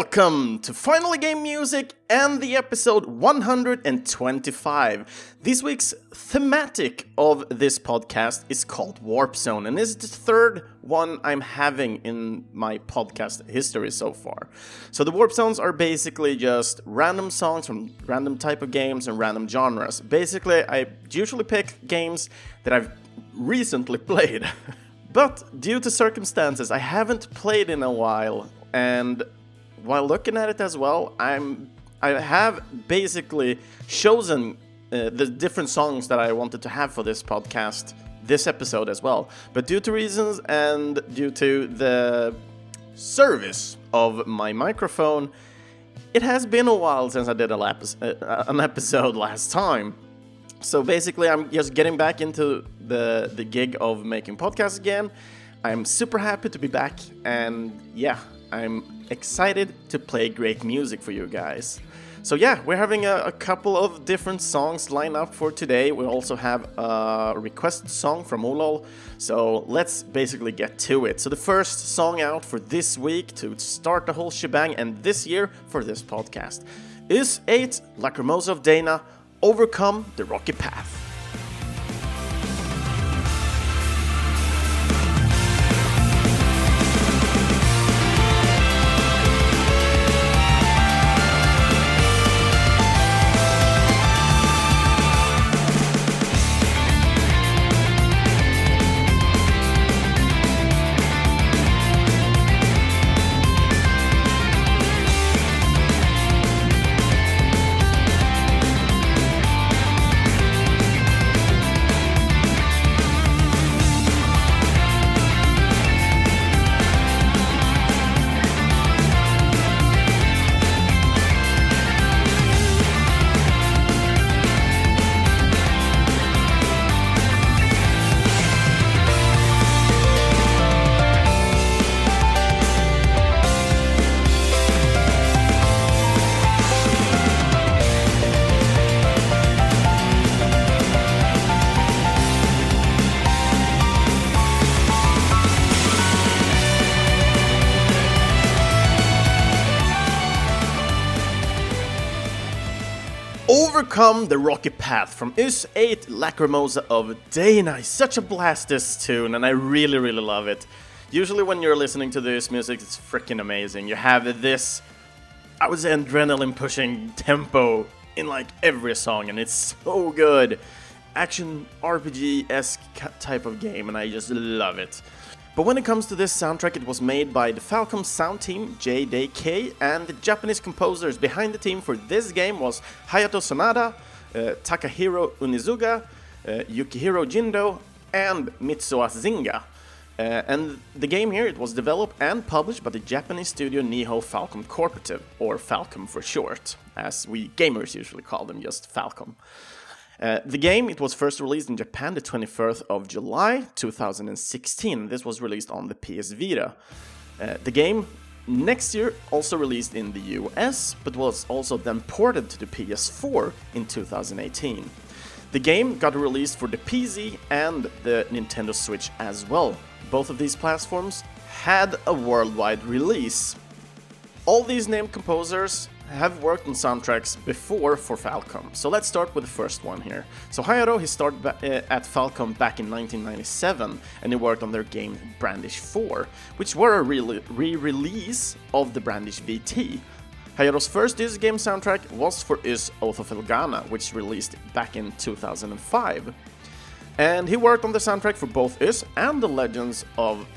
Welcome to Finally Game Music and the episode 125. This week's thematic of this podcast is called Warp Zone, and this is the third one I'm having in my podcast history so far. So the Warp Zones are basically just random songs from random type of games and random genres. Basically, I usually pick games that I've recently played. But due to circumstances, I haven't played in a while, and while looking at it as well, I have basically chosen the different songs that I wanted to have for this podcast, this episode as well. But due to reasons and due to the service of my microphone, it has been a while since I did an episode last time. So basically, I'm just getting back into the gig of making podcasts again. I'm super happy to be back, and yeah, I'm excited to play great music for you guys. So yeah, we're having a couple of different songs lined up for today. We also have a requested song from Olol, so let's basically get to it. So the first song out for this week to start the whole shebang and this year for this podcast is 8 Lacrimosa of Dana, Overcome the Rocky Path. Overcome the Rocky Path from Ys 8 Lacrimosa of Dana. It's such a blast, this tune, and I really love it. Usually when you're listening to this music, it's freaking amazing. You have this, I would say, adrenaline pushing tempo in like every song, and it's so good. Action RPG-esque type of game, and I just love it. But when it comes to this soundtrack, it was made by the Falcom sound team, JDK, and the Japanese composers behind the team for this game was Hayato Sanada, Takahiro Unizuga, Yukihiro Jindo, and Mitsuo Zinga. And the game here, it was developed and published by the Japanese studio Nihon Falcom Corporative, or Falcom for short, as we gamers usually call them, just Falcom. The game, it was first released in Japan the 21st of July 2016. This was released on the PS Vita. The game next year also released in the US, but was also then ported to the PS4 in 2018. The game got released for the PC and the Nintendo Switch as well. Both of these platforms had a worldwide release. All these named composers have worked on soundtracks before for Falcom. So let's start with the first one here. So Hayato, he started at Falcom back in 1997, and he worked on their game Brandish 4, which were a re-release of the Brandish VT. Hayato's first Ys game soundtrack was for Ys Oath of Elgana, which released back in 2005. And he worked on the soundtrack for both Ys and the Legend of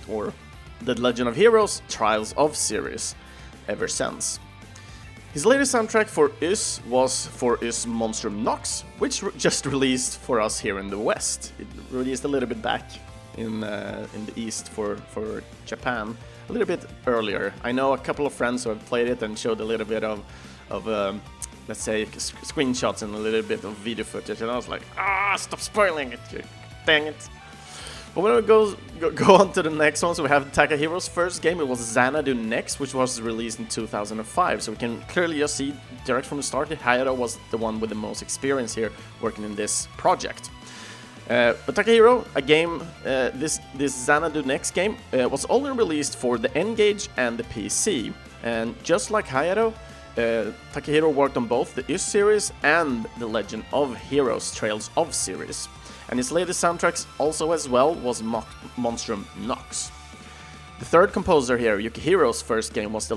Heroes Trials of series ever since. His latest soundtrack for Ys was for Ys Monstrum Nox, which just released for us here in the West. It released a little bit back in the East for Japan, a little bit earlier. I know a couple of friends who have played it and showed a little bit of let's say, screenshots and a little bit of video footage, and I was like, stop spoiling it, dang it. But when we go on to the next one, so we have Takahiro's first game. It was Xanadu Next, which was released in 2005. So we can clearly just see direct from the start that Hayato was the one with the most experience here working in this project. But Takahiro, a game, this Xanadu Next game, was only released for the N-Gage and the PC. And just like Hayato, Takahiro worked on both the Ys series and the Legend of Heroes Trails of series. And his latest soundtracks also as well was Monstrum Nox. The third composer here, Yukihiro's first game, was the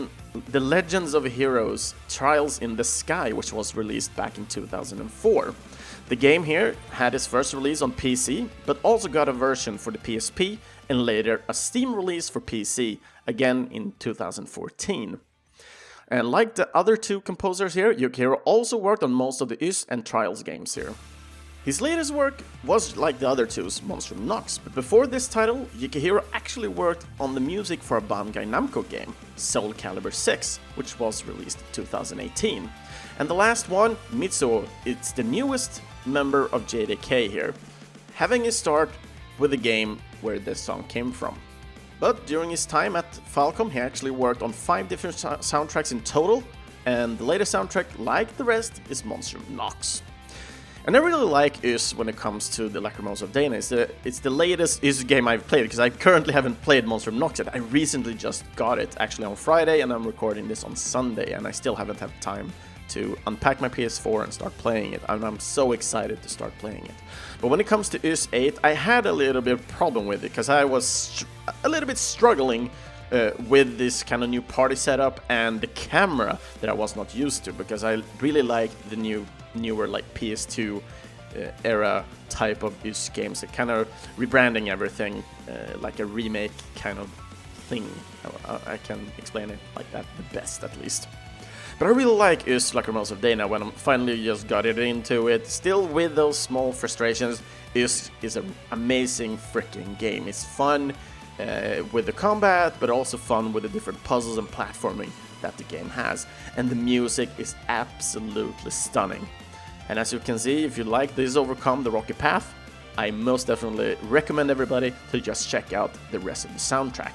Legends of Heroes Trials in the Sky, which was released back in 2004. The game here had its first release on PC, but also got a version for the PSP and later a Steam release for PC, again in 2014. And like the other two composers here, Yukihiro also worked on most of the Ys and Trials games here. His latest work was like the other two's, Monstrum Nox, but before this title, Yukihiro actually worked on the music for a Bandai Namco game, Soul Calibur 6, which was released in 2018. And the last one, Mitsuo, it's the newest member of JDK here, having his start with the game where this song came from. But during his time at Falcom, he actually worked on 5 different soundtracks in total, and the latest soundtrack, like the rest, is Monstrum Nox. And I really like Ys when it comes to the Lacrimosa of Dana. It's the latest Ys game I've played, because I currently haven't played Monstrum Nox yet. I recently just got it, actually on Friday, and I'm recording this on Sunday, and I still haven't had time to unpack my PS4 and start playing it, and I'm so excited to start playing it. But when it comes to Ys 8, I had a little bit of problem with it, because I was a little bit struggling with this kind of new party setup and the camera that I was not used to, because I really like the newer like PS2 era type of Ys games, that kind of rebranding everything like a remake kind of thing. I can explain it like that the best, at least. But I really like Ys Lacrimosa of Dana when I finally just got it into it. Still with those small frustrations, Ys is an amazing freaking game. It's fun with the combat, but also fun with the different puzzles and platforming that the game has. And the music is absolutely stunning. And as you can see, if you like This Overcome the Rocky Path, I most definitely recommend everybody to just check out the rest of the soundtrack.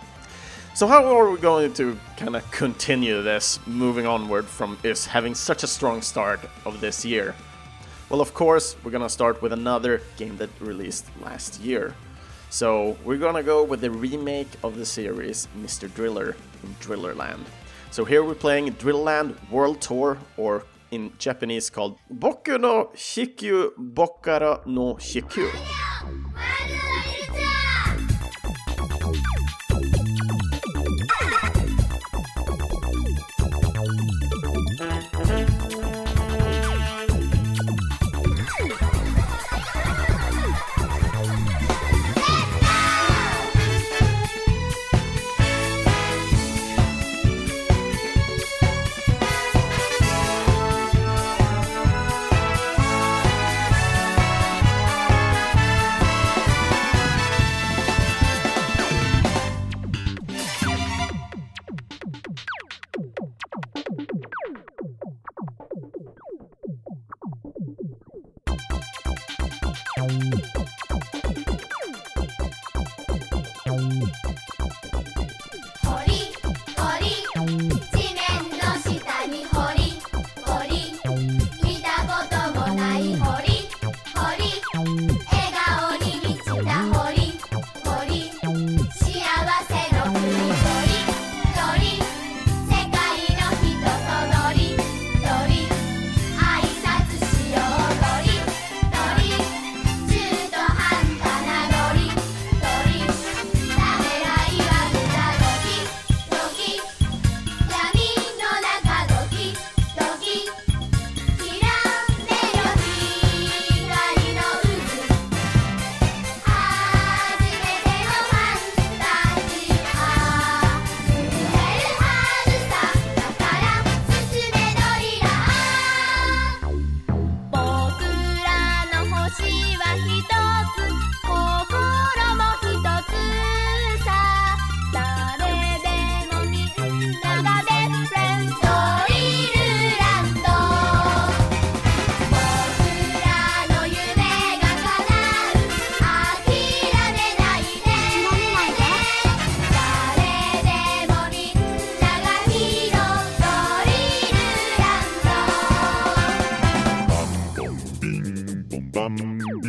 So how are we going to kind of continue this, moving onward from Ys having such a strong start of this year? Well, of course, we're gonna start with another game that released last year. So we're gonna go with the remake of the series Mr. Driller in Drillerland. So here we're playing Drillerland World Tour, or in Japanese called Boku no Shikyu Bokkara no Shikyu.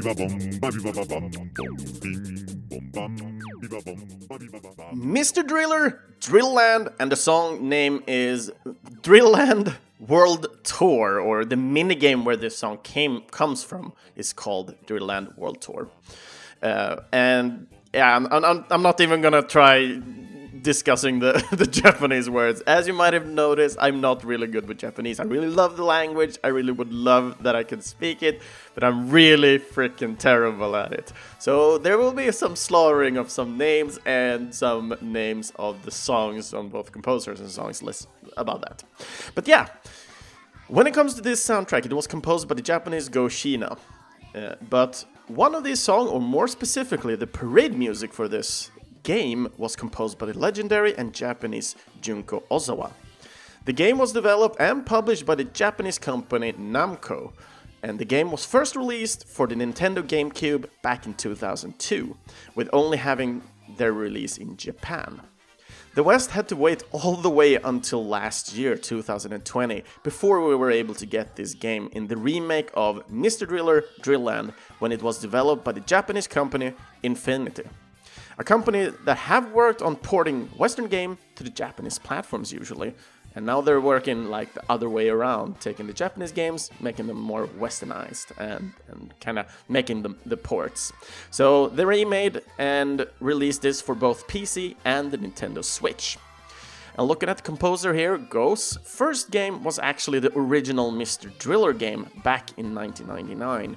Mr. Driller, Drillland, and the song name is Drillland World Tour, or the minigame where this song comes from is called Drillland World Tour. And yeah, I'm not even gonna try discussing the Japanese words. As you might have noticed, I'm not really good with Japanese. I really love the language. I really would love that I could speak it, but I'm really freaking terrible at it. So there will be some slaughtering of some names and some names of the songs on both composers and songs lists about that. But yeah, when it comes to this soundtrack, it was composed by the Japanese Go Shiina. But one of these songs, or more specifically, the parade music for this game was composed by the legendary and Japanese Junko Ozawa. The game was developed and published by the Japanese company Namco, and the game was first released for the Nintendo GameCube back in 2002, with only having their release in Japan. The West had to wait all the way until last year, 2020, before we were able to get this game in the remake of Mr. Driller Drillland, when it was developed by the Japanese company Infinity. A company that have worked on porting Western game to the Japanese platforms usually, and now they're working like the other way around, taking the Japanese games, making them more westernized, and kind of making them the ports. So they remade and released this for both PC and the Nintendo Switch. And looking at the composer here, Go's first game was actually the original Mr. Driller game back in 1999.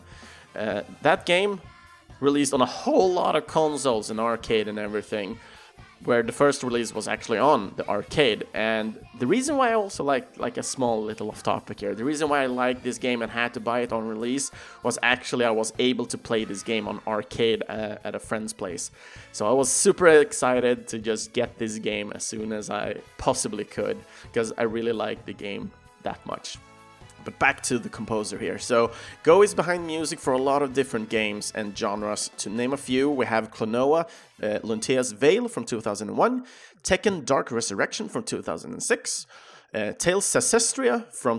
That game released on a whole lot of consoles and arcade and everything, where the first release was actually on the arcade. And the reason why I also like a small little off topic here, the reason why I liked this game and had to buy it on release was actually I was able to play this game on arcade at a friend's place. So I was super excited to just get this game as soon as I possibly could, because I really liked the game that much. But back to the composer here. So Go is behind music for a lot of different games and genres. To name a few, we have Klonoa, Luntea's Veil from 2001, Tekken Dark Resurrection from 2006, Tales Ancestria from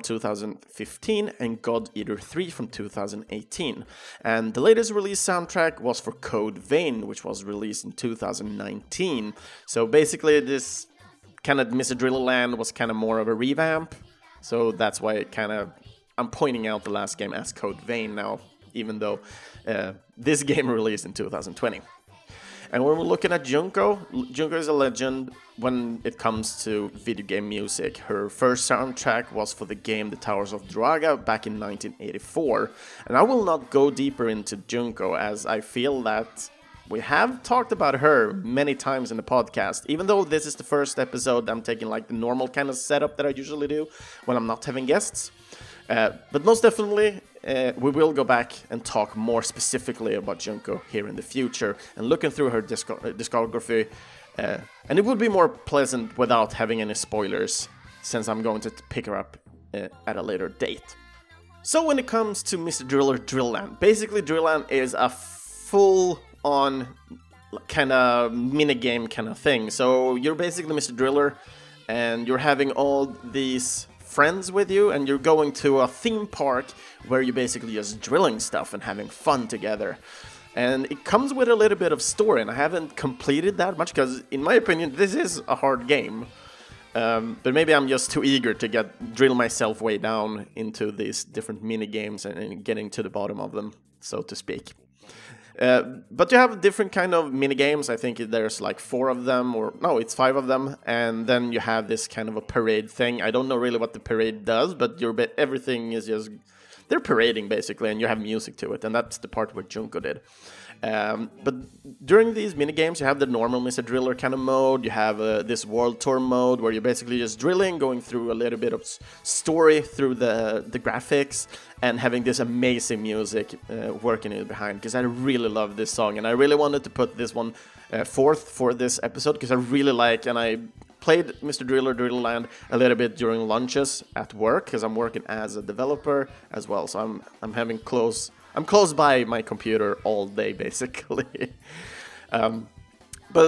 2015, and God Eater 3 from 2018. And the latest release soundtrack was for Code Vein, which was released in 2019. So basically this kind of Mr. Drillland was kind of more of a revamp. So that's why I'm pointing out the last game as Code Vein now, even though this game released in 2020. And when we're looking at Junko is a legend when it comes to video game music. Her first soundtrack was for the game The Towers of Druaga back in 1984. And I will not go deeper into Junko, as I feel that we have talked about her many times in the podcast. Even though this is the first episode, I'm taking like the normal kind of setup that I usually do when I'm not having guests. But most definitely, we will go back and talk more specifically about Junko here in the future and looking through her discography. And it would be more pleasant without having any spoilers, since I'm going to pick her up at a later date. So when it comes to Mr. Driller Drillland, basically Drillland is a full-on kind of minigame kind of thing. So you're basically Mr. Driller, and you're having all these friends with you, and you're going to a theme park where you're basically just drilling stuff and having fun together. And it comes with a little bit of story, and I haven't completed that much because, in my opinion, this is a hard game. But maybe I'm just too eager to drill myself way down into these different mini games and getting to the bottom of them, so to speak. But you have different kind of mini games. I think there's like 4 of them, or no, it's 5 of them. And then you have this kind of a parade thing. I don't know really what the parade does, but everything is just, they're parading basically, and you have music to it. And that's the part where Junko did. But during these mini games, you have the normal Mr. Driller kind of mode. You have this world tour mode where you're basically just drilling, going through a little bit of story through the graphics, and having this amazing music working in behind. Because I really love this song, and I really wanted to put this one forth for this episode because I really like, and I played Mr. Driller Drillland a little bit during lunches at work because I'm working as a developer as well. So I'm close by my computer all day, basically. But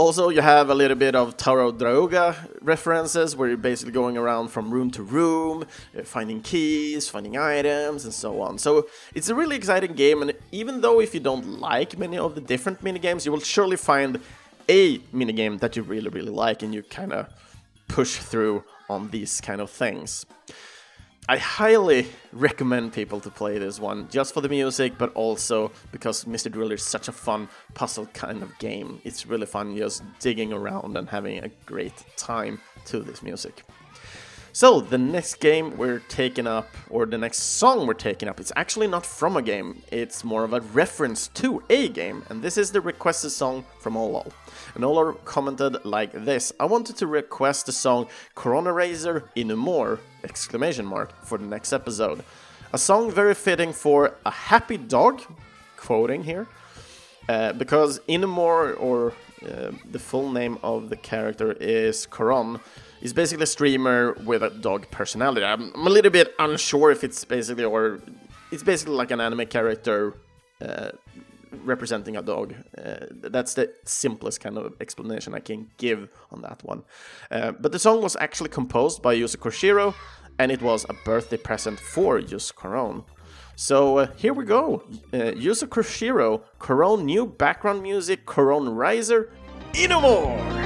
Also, you have a little bit of Tarot Droga references, where you're basically going around from room to room, finding keys, finding items, and so on. So it's a really exciting game, and even though if you don't like many of the different minigames, you will surely find a minigame that you really, really like, and you kind of push through on these kind of things. I highly recommend people to play this one, just for the music, but also because Mr. Driller is such a fun puzzle kind of game. It's really fun just digging around and having a great time to this music. So, the next game we're taking up, or the next song we're taking up, it's actually not from a game, it's more of a reference to a game, and this is the requested song from Olol. And Olol commented like this: I wanted to request the song Corona Razer Inumore! For the next episode. A song very fitting for a happy dog, quoting here, because Inumore, or the full name of the character is Coron, is basically a streamer with a dog personality. I'm a little bit unsure if it's basically, or it's basically like an anime character representing a dog. That's the simplest kind of explanation I can give on that one. But the song was actually composed by Yuzo Koshiro, and it was a birthday present for Yuzo Koron. So here we go. Yuzo Koshiro, Koron new background music, Corona Razer Inumore!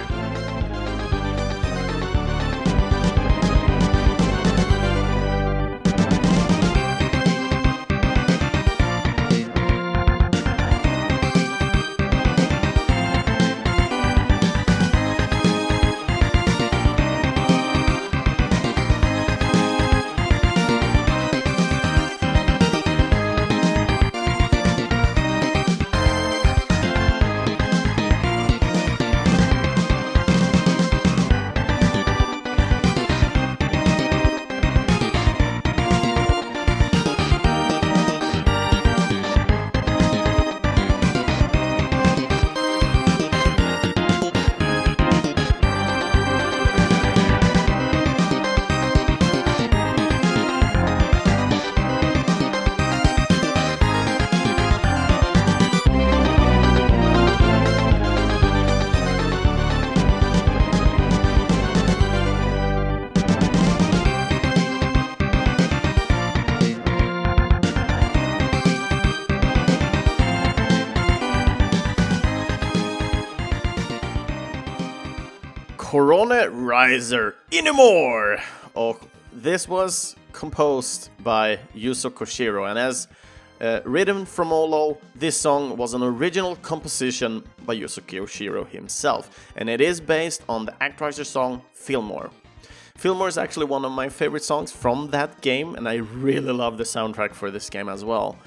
Corona Razer Inumore! Och, this was composed by Yuzo Koshiro, and as written from Olol, this song was an original composition by Yuzo Koshiro himself, and it is based on the Actraiser song Fillmore. Fillmore is actually one of my favorite songs from that game, and I really love the soundtrack for this game as well.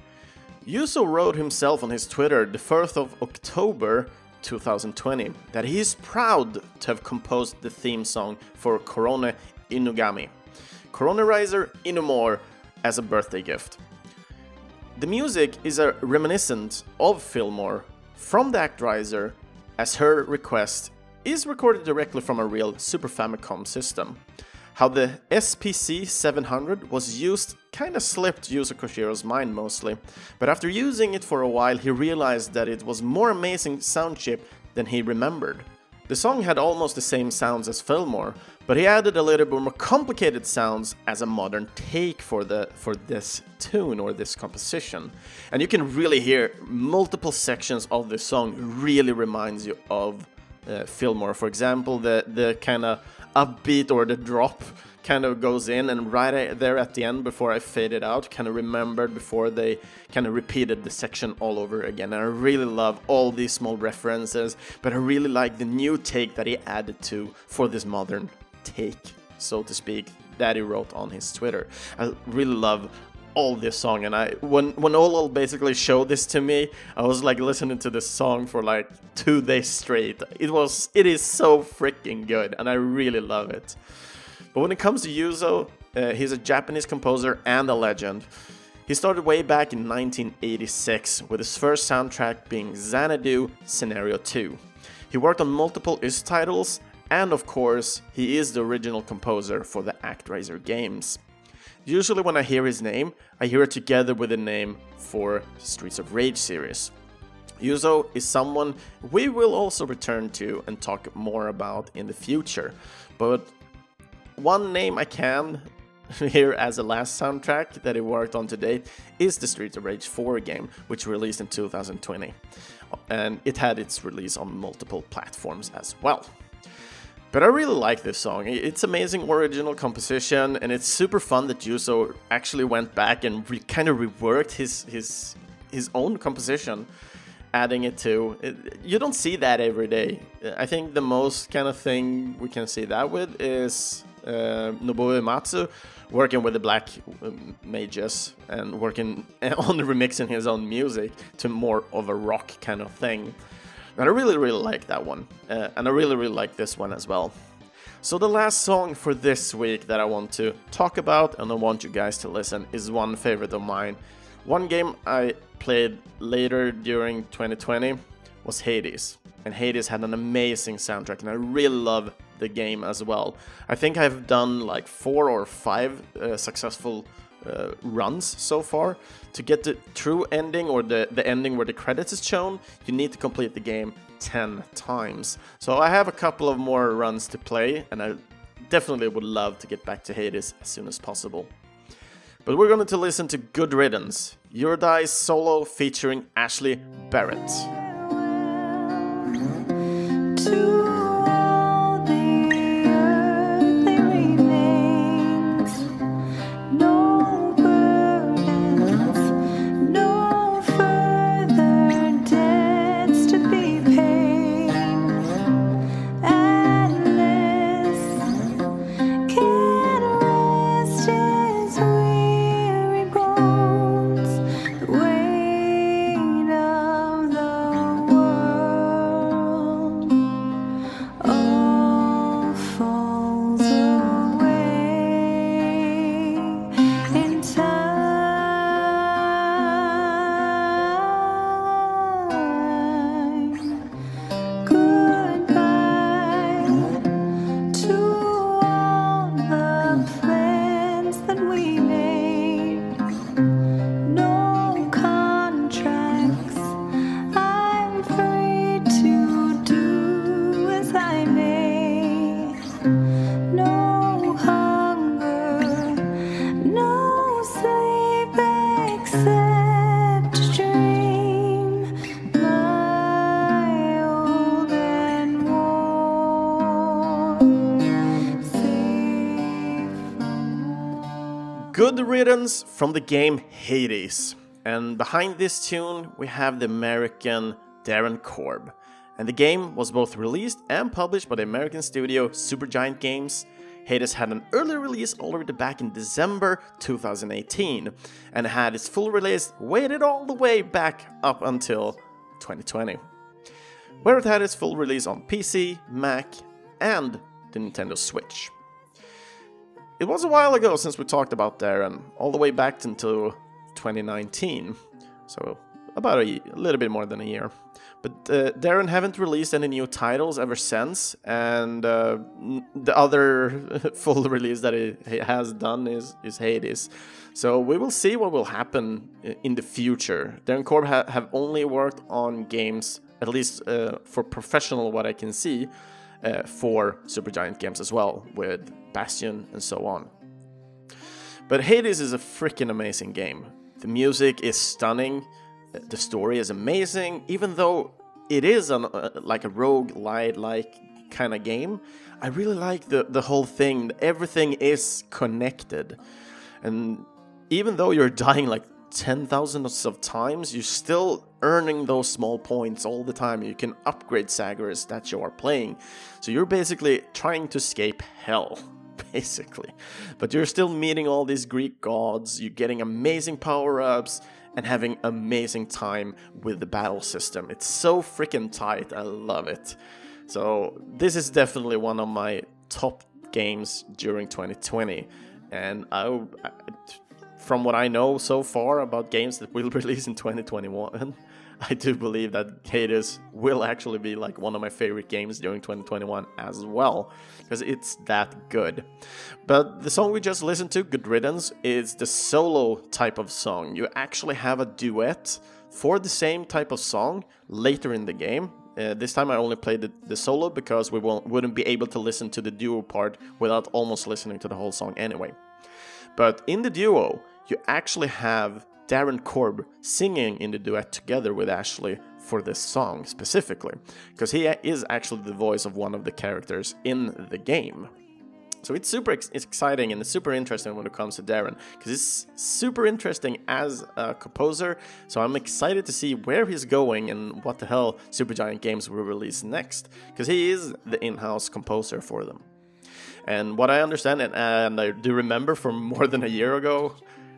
Yuzo wrote himself on his Twitter the 1st of October 2020 that he is proud to have composed the theme song for Corona Inugami, Corona Razer Inumore, as a birthday gift. The music is a reminiscent of Fillmore from the Actraiser, as her request is recorded directly from a real Super Famicom system. How the SPC 700 was used kinda slipped Yuzo Koshiro's mind mostly, but after using it for a while he realized that it was more amazing sound chip than he remembered. The song had almost the same sounds as Fillmore, but he added a little bit more complicated sounds as a modern take for this tune or this composition. And you can really hear multiple sections of the song really reminds you of Fillmore. For example, the kind of upbeat or the drop kind of goes in, and right there at the end before I faded out, kind of remembered before they kind of repeated the section all over again. And I really love all these small references, but I really like the new take that he added to for this modern take, so to speak, that he wrote on his Twitter. I really love all this song, and when Olol basically showed this to me, I was like listening to this song for like 2 days straight. It is so freaking good, and I really love it. But when it comes to Yuzo, he's a Japanese composer and a legend. He started way back in 1986, with his first soundtrack being Xanadu Scenario 2. He worked on multiple IS titles, and of course, he is the original composer for the Actraiser games. Usually when I hear his name, I hear it together with the name for Streets of Rage series. Yuzo is someone we will also return to and talk more about in the future, but one name I can here as a last soundtrack that he worked on to date is the Streets of Rage 4 game, which released in 2020, and it had its release on multiple platforms as well. But I really like this song. It's amazing original composition, and it's super fun that Yuzo actually went back and kind of reworked his own composition, adding it to. You don't see that every day. I think the most kind of thing we can see that with is Nobuo Uematsu working with the Black Mages and working on remixing his own music to more of a rock kind of thing. And I really like that one, and I really like this one as well. So the last song for this week that I want to talk about and I want you guys to listen is one favorite of mine. One game I played later during 2020 was Hades, and Hades had an amazing soundtrack, and I really love the game as well. I think I've done like 4 or 5 successful runs so far. To get the true ending, or the ending where the credits is shown, you need to complete the game 10 times. So I have a couple of more runs to play, and I definitely would love to get back to Hades as soon as possible. But we're going to listen to Good Riddance, Eurydice solo featuring Ashley Barrett. Good Riddance from the game Hades. And behind this tune we have the American Darren Korb. And the game was both released and published by the American studio Supergiant Games. Hades had an early release already back in December 2018 and had its full release waited all the way back up until 2020, where it had its full release on PC, Mac, and the Nintendo Switch. It was a while ago since we talked about Darren, all the way back into 2019, so about a little bit more than a year. But Darren haven't released any new titles ever since, and the other full release that he has done is Hades. So we will see what will happen in the future. Darren Korb have only worked on games, at least for professional what I can see, for Supergiant Games as well, with Bastion and so on. But Hades is a freaking amazing game. The music is stunning, the story is amazing, even though it is like a roguelite-like kind of game. I really like the whole thing. Everything is connected. And even though you're dying like 10,000 of times, you're still earning those small points all the time. You can upgrade Zagreus that you are playing. So you're basically trying to escape hell, basically. But you're still meeting all these Greek gods, you're getting amazing power-ups, and having amazing time with the battle system. It's so freaking tight, I love it. So this is definitely one of my top games during 2020. And from what I know so far about games that will release in 2021, I do believe that Hades will actually be like one of my favorite games during 2021 as well, because it's that good. But the song we just listened to, Good Riddance, is the solo type of song. You actually have a duet for the same type of song later in the game. This time I only played the solo because we wouldn't be able to listen to the duo part without almost listening to the whole song anyway. But in the duo, you actually have Darren Korb singing in the duet together with Ashley for this song specifically, because he is actually the voice of one of the characters in the game. So it's super exciting and it's super interesting when it comes to Darren, because he's super interesting as a composer. So I'm excited to see where he's going and what the hell Supergiant Games will release next, because he is the in-house composer for them. And what I understand, and I do remember from more than a year ago,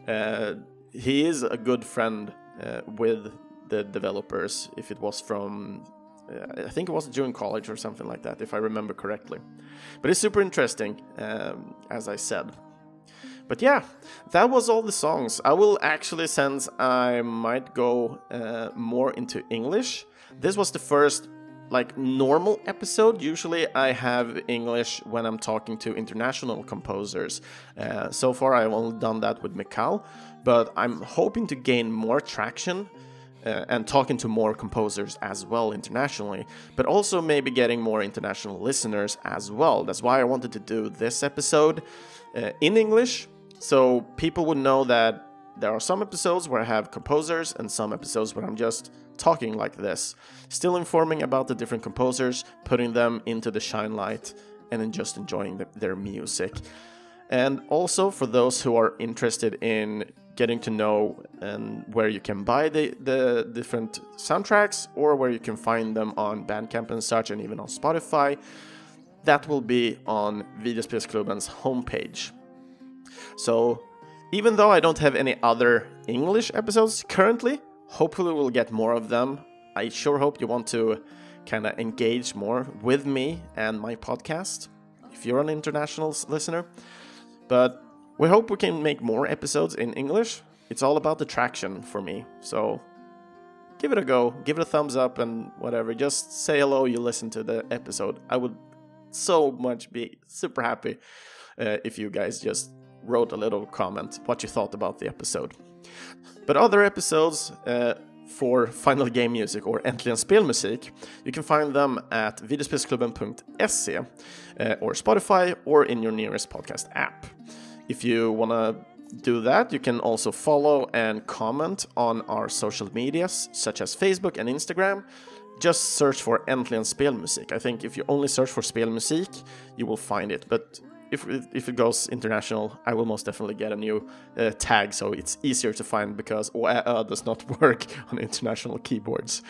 he is a good friend with the developers. If it was from, I think it was during college or something like that, if I remember correctly. But it's super interesting, as I said. But yeah, that was all the songs. I will actually, since I might go more into English, this was the first like normal episode. Usually I have English when I'm talking to international composers. So far I've only done that with Mikal, but I'm hoping to gain more traction and talking to more composers as well internationally, but also maybe getting more international listeners as well. That's why I wanted to do this episode in English, so people would know that there are some episodes where I have composers and some episodes where I'm just talking like this, still informing about the different composers, putting them into the shine light, and then just enjoying their music. And also for those who are interested in getting to know and where you can buy the different soundtracks, or where you can find them on Bandcamp and such, and even on Spotify, that will be on Videospelsklubbens homepage. So even though I don't have any other English episodes currently, hopefully we'll get more of them. I sure hope you want to kind of engage more with me and my podcast, if you're an international listener. But we hope we can make more episodes in English. It's all about the traction for me. So give it a go, give it a thumbs up and whatever. Just say hello, you listen to the episode. I would so much be super happy if you guys just wrote a little comment what you thought about the episode. But other episodes for Final Game Music or Äntligen Spelmusik, you can find them at videospelsklubben.se or Spotify or in your nearest podcast app. If you want to do that, you can also follow and comment on our social medias such as Facebook and Instagram. Just search for Äntligen Spelmusik. I think if you only search for Spelmusik, you will find it. But if it goes international, I will most definitely get a new tag, so it's easier to find, because OÄ does not work on international keyboards.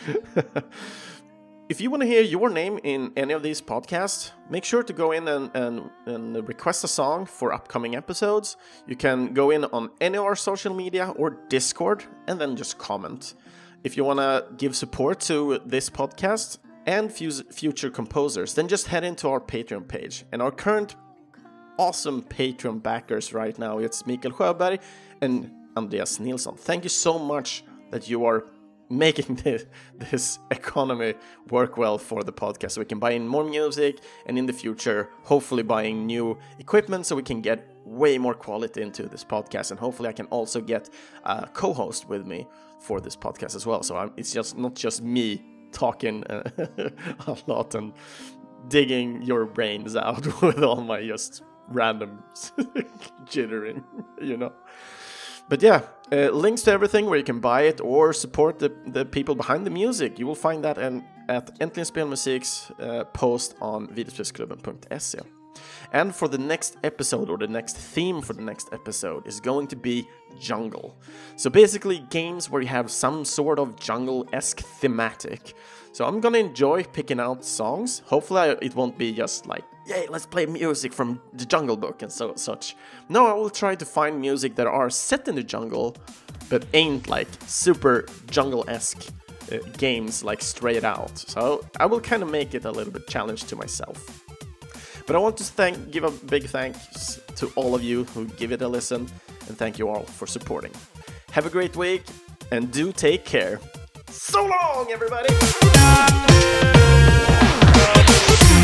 If you want to hear your name in any of these podcasts, make sure to go in and request a song for upcoming episodes. You can go in on any of our social media or Discord and then just comment. If you want to give support to this podcast and future composers, then just head into our Patreon page. And our current awesome Patreon backers right now, it's Mikael Sjöberg and Andreas Nilsson. Thank you so much that you are making this economy work well for the podcast, so we can buy in more music, and in the future hopefully buying new equipment so we can get way more quality into this podcast. And hopefully I can also get a co-host with me for this podcast as well, so it's just not just me talking a lot and digging your brains out with all my just random jittering, you know. But yeah, links to everything where you can buy it or support the people behind the music, you will find that at Äntligen Spelmusik's post on videospelsklubben.se. And for the next episode, or the next theme for the next episode, is going to be jungle. So basically games where you have some sort of jungle-esque thematic. So I'm gonna enjoy picking out songs. Hopefully it won't be just like, yay, let's play music from the Jungle Book and such. No, I will try to find music that are set in the jungle, but ain't like super jungle-esque games like Straight Out. So I will kind of make it a little bit challenge to myself. But I want to give a big thanks to all of you who give it a listen, and thank you all for supporting. Have a great week, and do take care. So long, everybody!